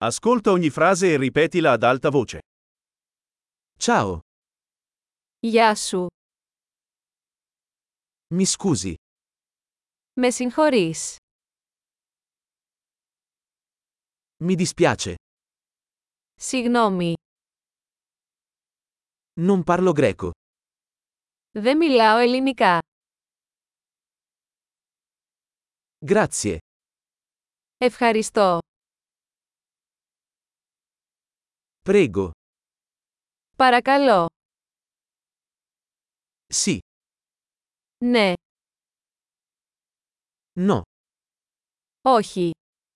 Ascolta ogni frase e ripetila ad alta voce. Ciao, Γεια σου. mi scusi, Με συγχωρείς. mi dispiace, Συγγνώμη. non parlo greco. Δεν μιλάω ελληνικά. Grazie, Ευχαριστώ. prego, Παρακαλώ. sì, Ναι. no. Όχι.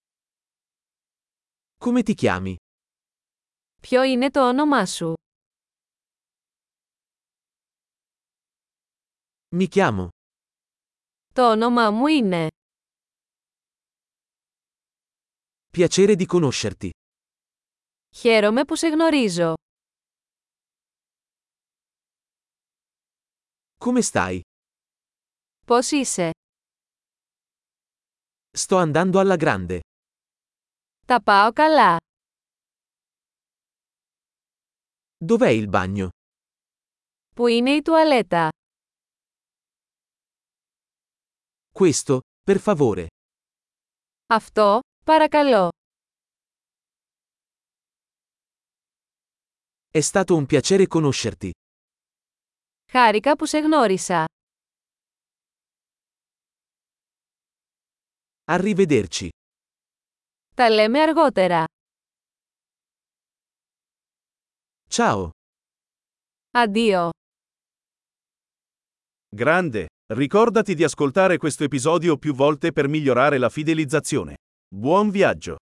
Come ti chiami? Ποιο είναι το όνομά σου? Mi chiamo. Το όνομά μου είναι. Piacere di conoscerti. Χαίρομαι που σε γνωρίζω. Come stai? Πώς είσαι? Sto andando alla grande. Τα πάω καλά. Dov'è il bagno? Πού είναι η τουαλέτα? Questo, per favore. Αυτό, παρακαλώ. È stato un piacere conoscerti. Χάρηκα που σε γνώρισα. Arrivederci. Τα λέμε αργότερα. Ciao. Αντίο. Grande, ricordati di ascoltare questo episodio più volte per migliorare la fidelizzazione. Buon viaggio!